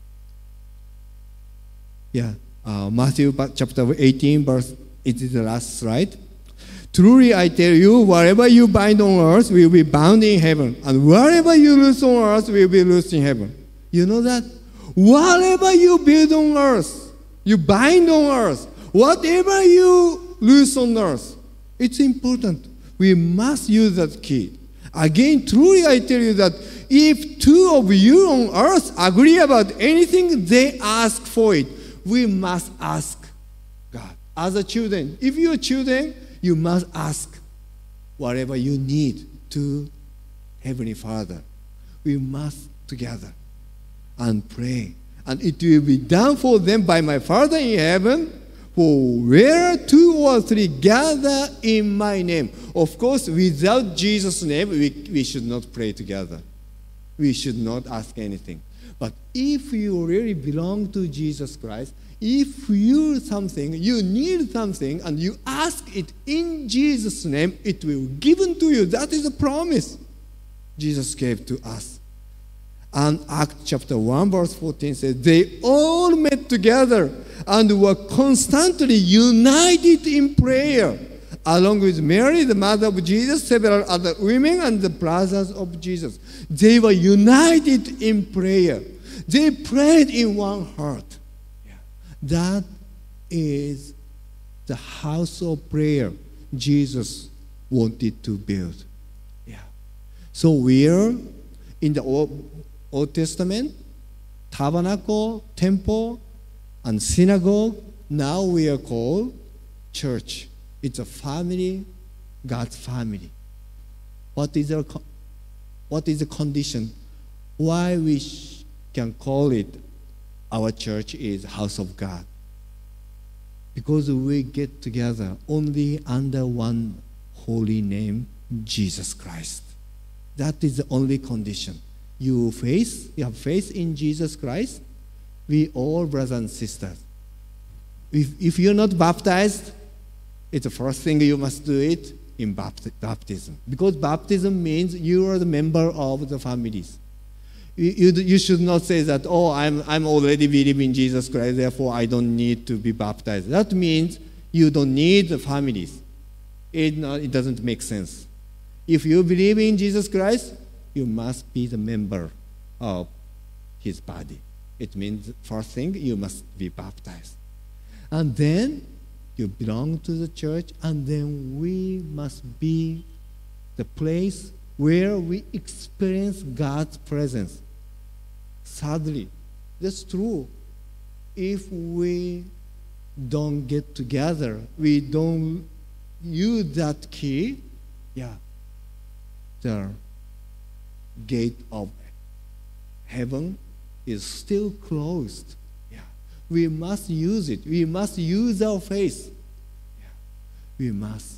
Yeah, uh, Matthew chapter eighteen, verse, it is the last slide. Truly I tell you, whatever you bind on earth will be bound in heaven, and whatever you loose on earth will be loosed in heaven. You know that? Whatever you build on earth, you bind on earth, whatever you loose on earth, it's important. We must use that key. Again, truly I tell you that if two of you on earth agree about anything, they ask for it. We must ask God. As a children, if you're children, you must ask whatever you need to Heavenly Father. We must together and pray. And it will be done for them by my Father in heaven. For where two or three gather in my name. Of course, without Jesus' name, we, we should not pray together. We should not ask anything. But if you really belong to Jesus Christ, if you something, you need something, and you ask it in Jesus' name, it will be given to you. That is a promise Jesus gave to us. And Acts chapter one, verse fourteen says, they all met together and were constantly united in prayer, along with Mary, the mother of Jesus, several other women, and the brothers of Jesus. They were united in prayer. They prayed in one heart. Yeah. That is the house of prayer Jesus wanted to build. Yeah. So we are in the Old, Old Testament, tabernacle, temple, and synagogue. Now we are called church. It's a family, God's family. What is our, what is the condition? Why we sh- can call it our church is house of God? Because we get together only under one holy name, Jesus Christ. That is the only condition. You faith, you have faith in Jesus Christ. We all brothers and sisters. If, if you're not baptized, it's the first thing you must do it in baptism. Because baptism means you are the member of the families. You, you, you should not say that, oh, I'm, I'm already believing in Jesus Christ, therefore I don't need to be baptized. That means you don't need the families. It, not, it doesn't make sense. If you believe in Jesus Christ, you must be the member of his body. It means, first thing, you must be baptized. And then you belong to the church, and then we must be the place where we experience God's presence. Sadly, that's true. If we don't get together, we don't use that key, yeah, the gate of heaven is still closed. Yeah. We must use it. We must use our faith. Yeah. We must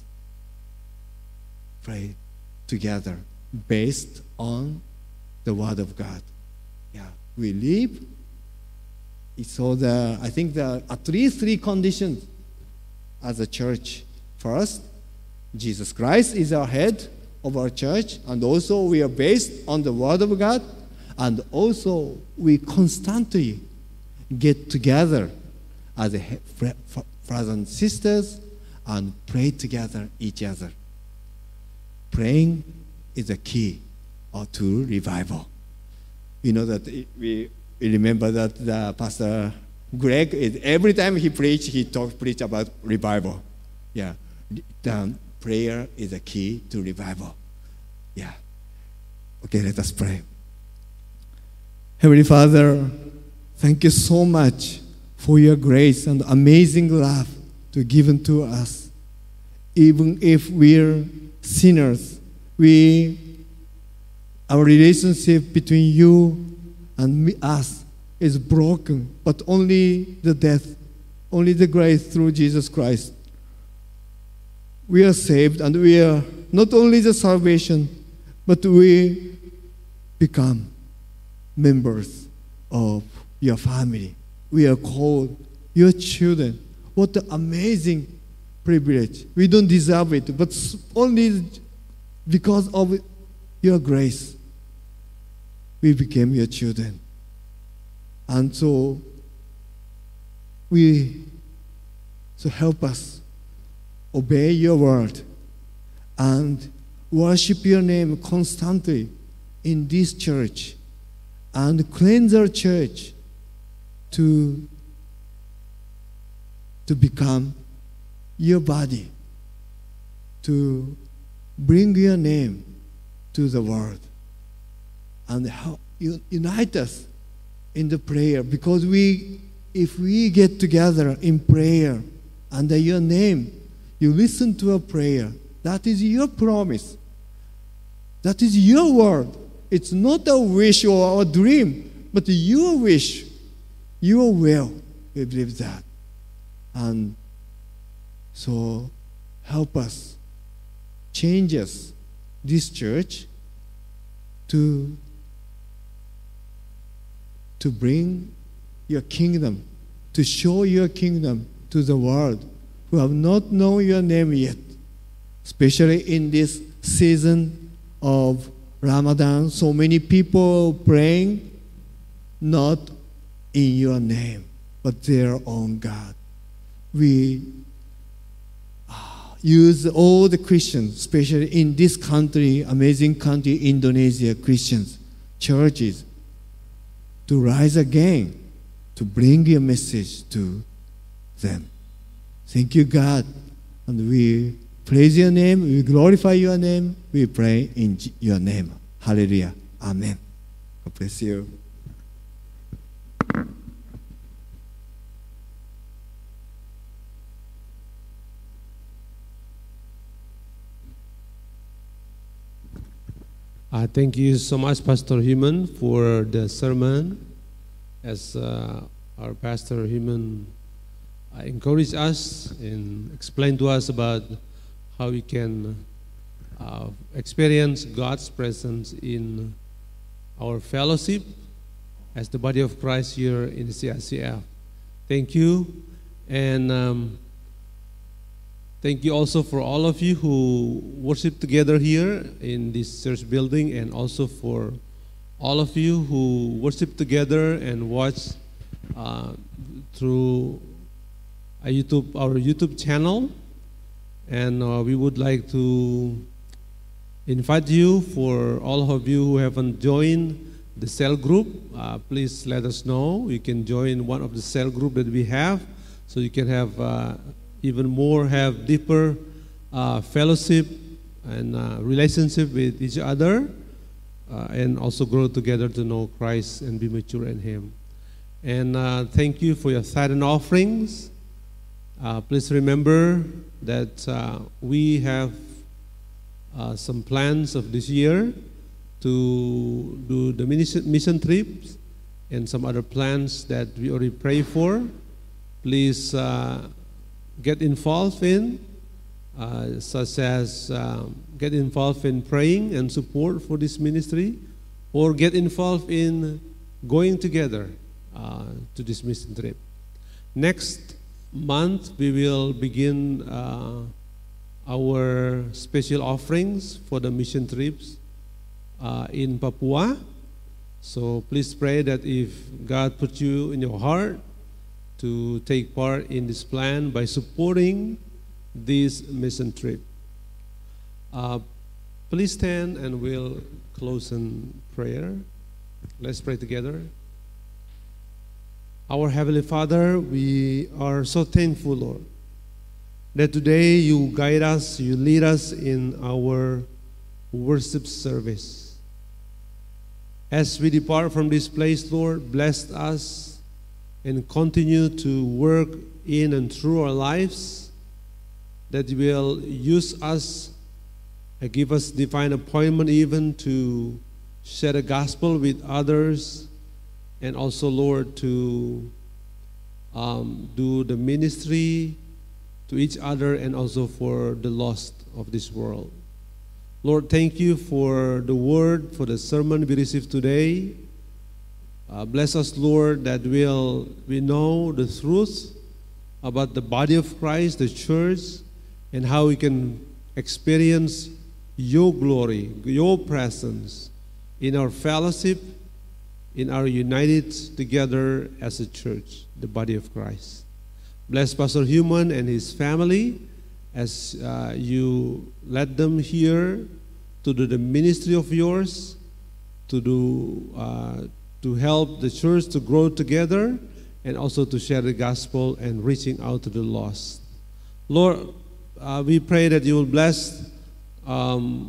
pray together based on the Word of God. Yeah. We live. So the I think there are at least three conditions as a church. First, Jesus Christ is our head of our church, and also we are based on the Word of God, and also we constantly get together as a brothers and sisters and pray together each other. Praying is a key to revival. You know that we, we remember that the Pastor Greg, is, every time he preach, he talk preach about revival. Yeah, the prayer is a key to revival. Yeah. Okay, let us pray. Heavenly Father, thank you so much for your grace and amazing love to given to us. Even if we're sinners, we our relationship between you and me, us is broken, but only the death, only the grace through Jesus Christ. We are saved, and we are not only the salvation, but we become members of your family. We are called your children. What an amazing privilege. We don't deserve it, but only because of your grace, we became your children. And so, we, so help us obey your word and worship your name constantly in this church, and cleanse our church to, to become your body, to bring your name to the world, and help you unite us in the prayer. Because we, if we get together in prayer under your name, you listen to a prayer. That is your promise. That is your word. It's not a wish or a dream, but your wish, your will. We believe that. And So help us, change us, this church, to, to bring your kingdom, to show your kingdom to the world who have not known your name yet, especially in this season of Ramadan. So many people praying not in your name, but their own God. We use all the Christians, especially in this country, amazing country, Indonesia, Christians, churches, to rise again, to bring your message to them. Thank you, God. And we praise your name, we glorify your name, we pray in your name. Hallelujah. Amen. God bless you. Uh, thank you so much, Pastor Human, for the sermon. As uh, our Pastor Human uh, encouraged us and explained to us about how we can uh, experience God's presence in our fellowship as the body of Christ here in the C I C F. Thank you. And um, thank you also for all of you who worship together here in this church building, and also for all of you who worship together and watch uh, through a YouTube, our YouTube channel. And uh, we would like to invite you, for all of you who haven't joined the cell group, uh, please let us know. You can join one of the cell group that we have, so you can have uh, even more, have deeper uh, fellowship and uh, relationship with each other, uh, and also grow together to know Christ and be mature in Him. And uh, thank you for your tithe and offerings. Uh, please remember that uh, we have uh, some plans of this year to do the mission trips and some other plans that we already pray for. Please uh, get involved in, uh, such as um, get involved in praying and support for this ministry, or get involved in going together uh, to this mission trip. Next month, we will begin uh, our special offerings for the mission trips uh, in Papua. So please pray that if God put you in your heart to take part in this plan by supporting this mission trip. Uh, please stand and we'll close in prayer. Let's pray together. Our Heavenly Father, we are so thankful, Lord, that today you guide us, you lead us in our worship service. As we depart from this place, Lord, bless us and continue to work in and through our lives, that you will use us and give us divine appointment even to share the gospel with others, and also, Lord, to um, do the ministry to each other and also for the lost of this world. Lord, thank you for the word, for the sermon we received today. Uh, bless us, Lord, that we'll, we know the truth about the body of Christ, the church, and how we can experience your glory, your presence in our fellowship, in our united together as a church, the body of Christ. Bless Pastor Human and his family as uh, you led them here to do the ministry of yours, to do uh, to help the church to grow together, and also to share the gospel and reaching out to the lost. Lord, uh, we pray that you will bless um,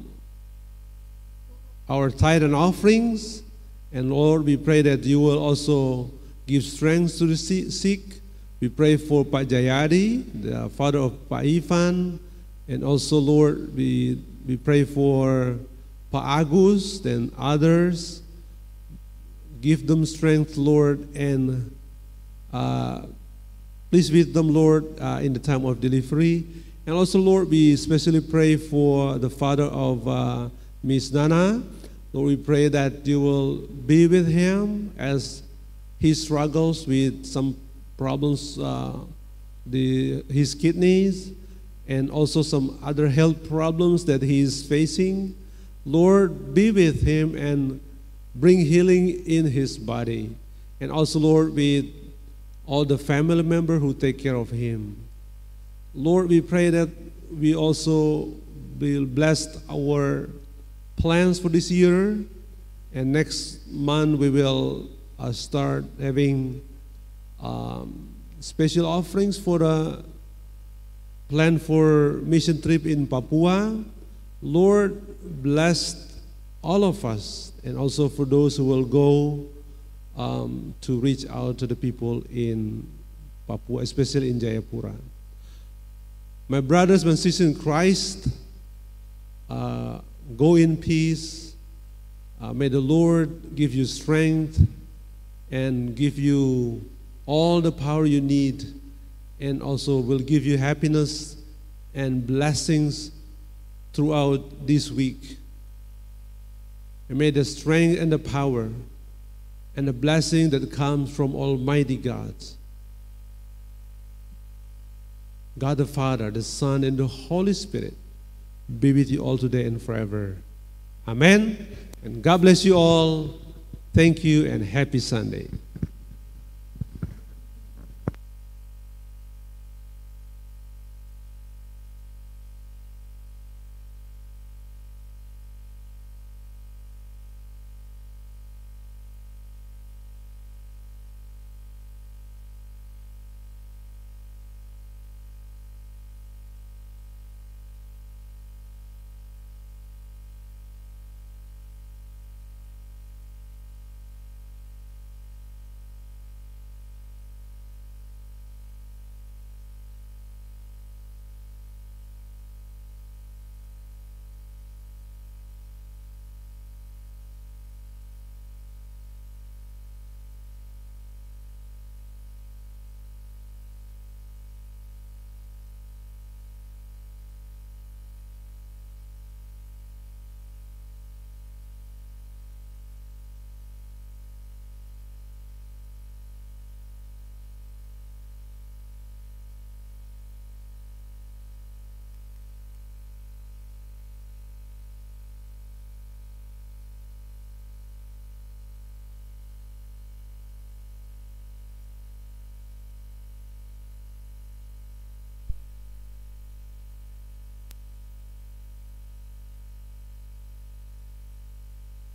our tithe and offerings. And Lord, we pray that you will also give strength to the sick. We pray for Pak Jayadi, the father of Pak Ivan. And also, Lord, we, we pray for Pak Agus and others. Give them strength, Lord, and uh, Please be with them, Lord, uh, in the time of delivery. And also, Lord, we especially pray for the father of uh, Miss Nana. Lord, we pray that you will be with him as he struggles with some problems, uh, the, his kidneys, and also some other health problems that he is facing. Lord, be with him and bring healing in his body. And also, Lord, with all the family members who take care of him. Lord, we pray that we also will bless our plans for this year. And next month we will uh, start having um, special offerings for the plan for mission trip in Papua. Lord, bless all of us, and also for those who will go um, to reach out to the people in Papua, especially in Jayapura. My brothers and sisters in Christ, uh, go in peace. Uh, may the Lord give you strength and give you all the power you need, and also will give you happiness and blessings throughout this week. And may the strength and the power and the blessing that comes from Almighty God, God the Father, the Son, and the Holy Spirit be with you all today and forever. Amen. And God bless you all. Thank you and happy Sunday.